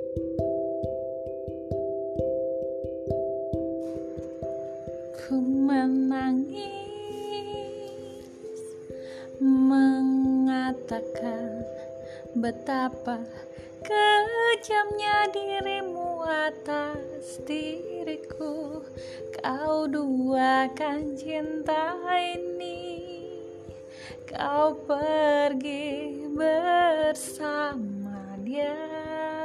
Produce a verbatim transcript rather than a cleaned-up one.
Ku menangis, mengatakan betapa kejamnya dirimu atas diriku. Kau duakan cinta ini, kau pergi bersama dia.